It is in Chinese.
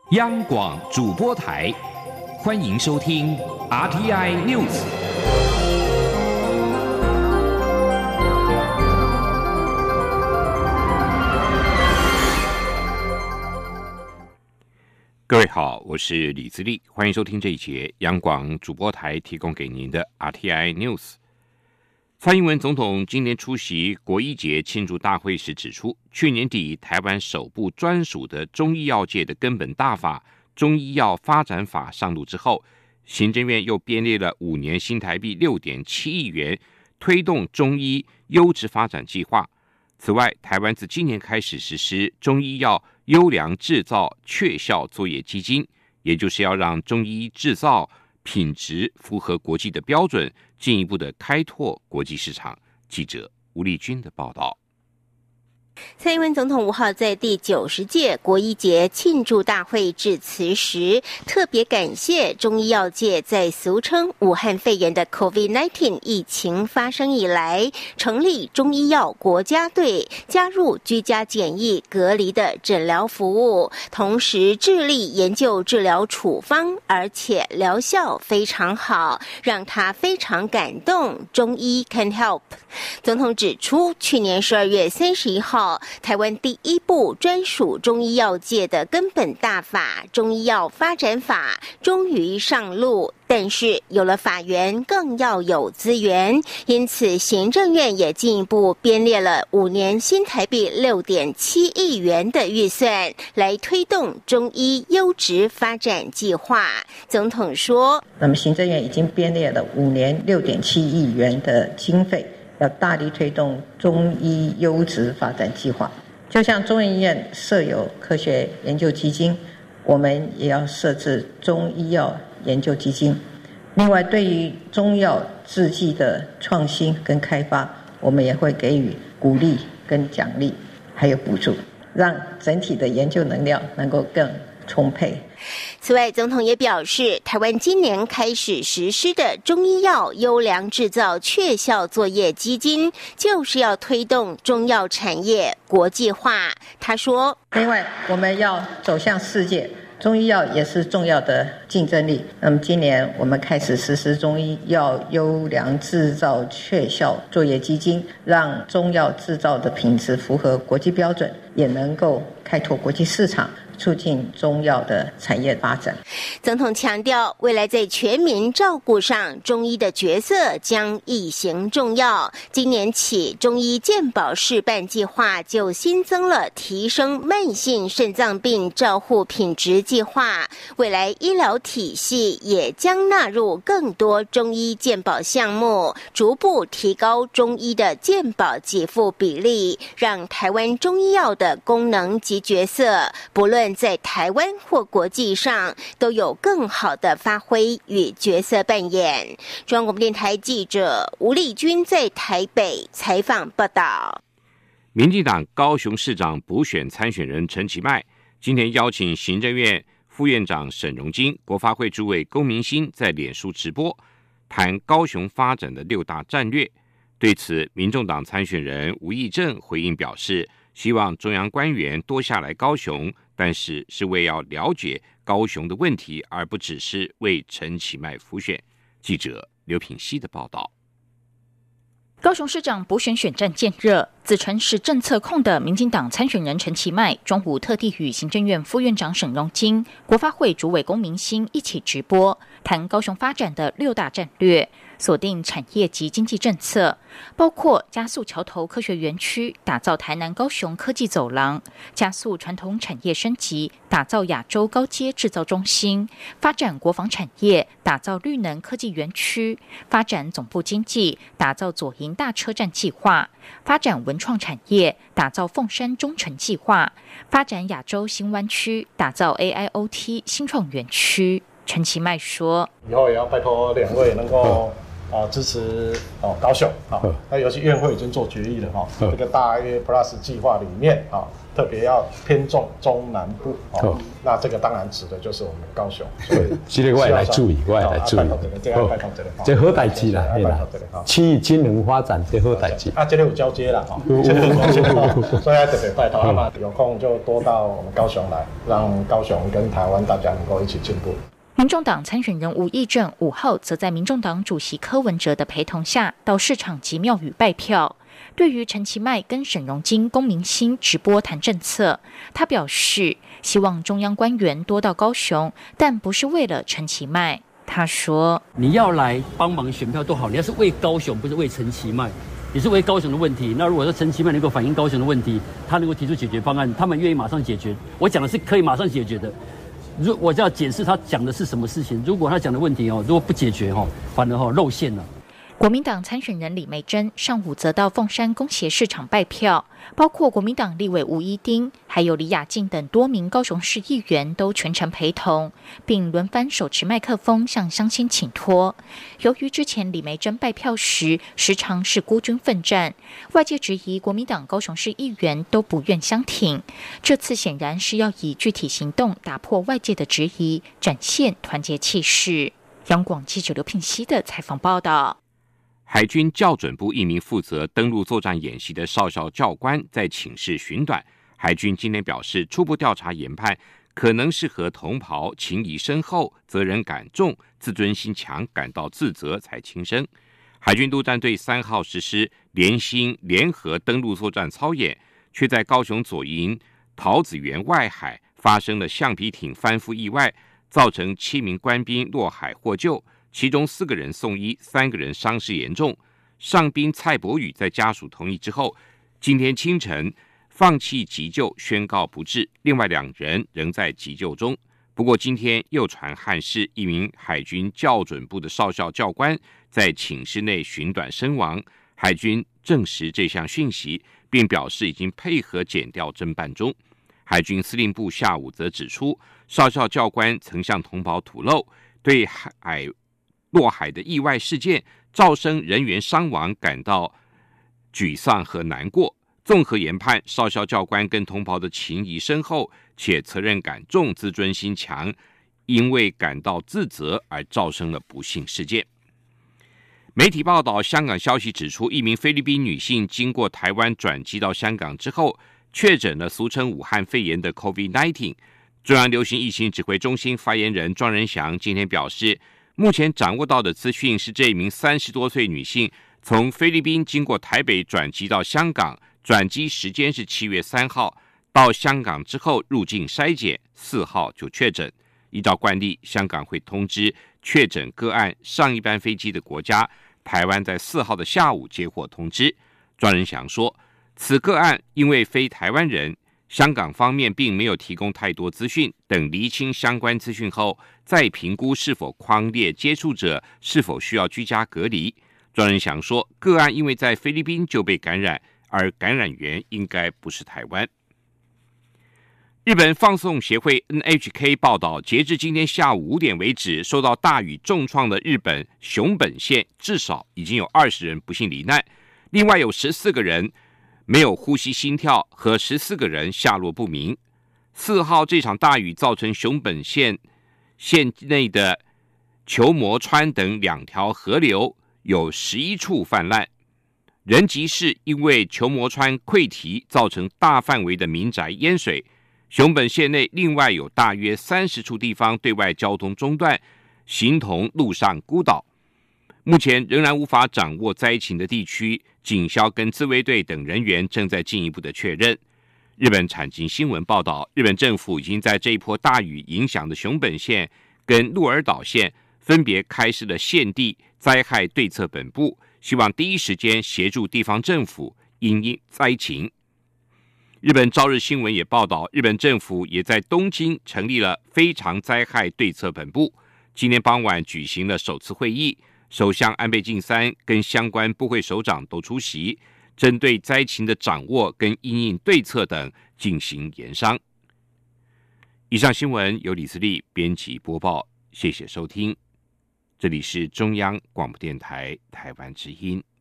央广主播台，欢迎收听 RTI News。各位好，我是李自立，欢迎收听这一节央广主播台提供给您的 RTI News。蔡英文总统今年出席国医节庆祝大会时指出，去年底台湾首部专属的中医药界的根本大法《中医药发展法》上路之后，行政院又编列了5年新台币6.7亿元，推动中医优质发展计划。此外，台湾自今年开始实施中医药优良制造确效作业基金，也就是要让中医制造品质符合国际的标准，进一步的开拓国际市场。记者吴丽君的报道。 蔡英文总统5号在第90届国医节庆祝大会致辞时，特别感谢中医药界在俗称武汉肺炎的 COVID-19 疫情发生以来，成立中医药国家队，加入居家检疫隔离的诊疗服务，同时致力研究治疗处方，而且疗效非常好，让他非常感动。中医 can help。总统指出，去年12月31号，台湾第一部专属中医药界的根本大法《中医药发展法》终于上路，但是有了法源，更要有资源，因此行政院也进一步编列了5年新台币6.7亿元的预算，来推动中医优质发展计划。总统说， 那么行政院已经编列了5年6.7亿元的经费，要大力推动中医优质发展计划。就像中研院设有科学研究基金，我们也要设置中医药研究基金。另外，对于中药制剂的创新跟开发，我们也会给予鼓励跟奖励，还有补助，让整体的研究能量能够更充沛。 此外，总统也表示，台湾今年开始实施的中医药优良制造确效作业基金，就是要推动中药产业国际化。他说， 另外我们要走向世界，中医药也是重要的竞争力。那么今年我们开始实施中医药优良制造确效作业基金，让中药制造的品质符合国际标准，也能够开拓国际市场，促进中药的产业发展。 总统强调，未来在全民照顾上，中医的角色将一形重要。今年起，中医健保示范计划就新增了提升慢性肾脏病照护品质计划，未来医疗体系也将纳入更多中医健保项目，逐步提高中医的健保给付比例，让台湾中医药的功能及角色，不论在台湾或国际上，都有更好的发挥与角色扮演。中央广播电台记者吴丽君在台北采访报道。 民进党高雄市长补选参选人陈其迈今天邀请行政院副院长沈荣金、国发会主委龚明鑫在脸书直播，谈高雄发展的6大战略。对此，民众党参选人吴益政回应表示，希望中央官员多下来高雄，但是为要了解高雄的问题，而不只是为陈其迈辅选。记者刘品希的报道。 高雄市长补选选战渐热，自称是政策控的民进党参选人陈其迈中午特地与行政院副院长沈荣金、国发会主委龚明鑫一起直播，谈高雄发展的6大战略，锁定产业及经济政策，包括加速桥头科学园区，打造台南高雄科技走廊，加速传统产业升级，打造亚洲高阶制造中心，发展国防产业，打造绿能科技园区，发展总部经济，打造左营大车站计划，发展文创产业，打造凤山中城计划，发展亚洲新湾区，打造 AIoT 新创园区。陈其迈说， 以后也要拜托2位能够支持高雄那尤其院会已经做决议了这个大爱 Plus 计划里面特别要偏重中南部那这个当然指的就是我们高雄，所以这个我也来注意，这好代志啦，区域金融发展这好代志这个有交接啦所以特别拜托嘛，有空就多到我们高雄来，让高雄跟台湾大家能够一起进步。 民众党参选人吴益政5号则在民众党主席柯文哲的陪同下到市场及庙宇拜票。对于陈其迈跟沈荣金、龚明鑫直播谈政策，他表示希望中央官员多到高雄，但不是为了陈其迈。他说：“ 你要来帮忙选票都好，你要是为高雄，不是为陈其迈，你是为高雄的问题。那如果说陈其迈能够反映高雄的问题，他能够提出解决方案，他们愿意马上解决。我讲的是可以马上解决的。”我就要解释他讲的是什么事情。如果他讲的问题如果不解决反而露馅了。 国民党参选人李眉蓁上午则到凤山工协市场拜票，包括国民党立委吴怡丁，还有李雅静等多名高雄市议员都全程陪同，并轮番手持麦克风向乡亲请托。由于之前李眉蓁拜票时时常是孤军奋战，外界质疑国民党高雄市议员都不愿相挺，这次显然是要以具体行动打破外界的质疑，展现团结气势。央广记者刘聘熙的采访报道。 海军校准部一名负责登陆作战演习的少校教官在寝室寻短，海军今天表示，初步调查研判可能是和同袍情谊深厚、责任感重、自尊心强感到自责才轻生。海军陆战队3号实施联心联合登陆作战操演，却在高雄左营桃子园外海发生了橡皮艇翻覆意外，造成7名官兵落海获救，其中4个人送医，3个人伤势严重。上兵蔡伯宇在家属同意之后，今天清晨放弃急救，宣告不治，另外2人仍在急救中。不过今天又传憾事，一名海军校准部的少校教官在寝室内寻短身亡。海军证实这项讯息，并表示已经配合检调侦办中。海军司令部下午则指出，少校教官曾向同袍吐露，对落海的意外事件造成人员伤亡感到沮丧和难过。综合研判，少校教官跟同袍的情谊深厚，且责任感重、自尊心强，因为感到自责而造成了不幸事件。媒体报道，香港消息指出，一名菲律宾女性经过台湾转机到香港之后，确诊了俗称武汉肺炎的 COVID-19。 中央流行疫情指挥中心发言人庄仁祥今天表示，目前掌握到的资讯是，这名30多岁女性从菲律宾经过台北转机到香港，转机时间是7月3号，到香港之后入境筛检，4号就确诊。依照惯例，香港会通知确诊个案上一班飞机的国家，台湾在4号的下午接获通知。庄仁祥说，此个案因为非台湾人，香港方面并没有提供太多资讯，等厘清相关资讯后，再评估是否匡列接触者，是否需要居家隔离。庄仁祥说，个案因为在菲律宾就被感染，而感染源应该不是台湾。日本放送协会 NHK 报道，截至今天下午5点为止，受到大雨重创的日本熊本县至少已经有20人不幸罹难，另外有14个人没有呼吸心跳，和14个人下落不明。4号这场大雨造成熊本县内的球磨川等2条河流有11处泛滥。仁吉市因为球磨川溃堤，造成大范围的民宅淹水。熊本县内另外有大约30处地方对外交通中断，形同陆上孤岛。目前仍然无法掌握灾情的地区，警消跟自卫队等人员正在进一步的确认。日本产经新闻报道，日本政府已经在这一波大雨影响的熊本县跟鹿儿岛县分别开设了县地灾害对策本部，希望第一时间协助地方政府因应灾情。日本朝日新闻也报道，日本政府也在东京成立了非常灾害对策本部，今天傍晚举行了首次会议，首相安倍晋三跟相关部会首长都出席，针对灾情的掌握跟因应对策等进行研商。以上新闻由李思利编辑播报，谢谢收听。 这里是中央广播电台台湾之音。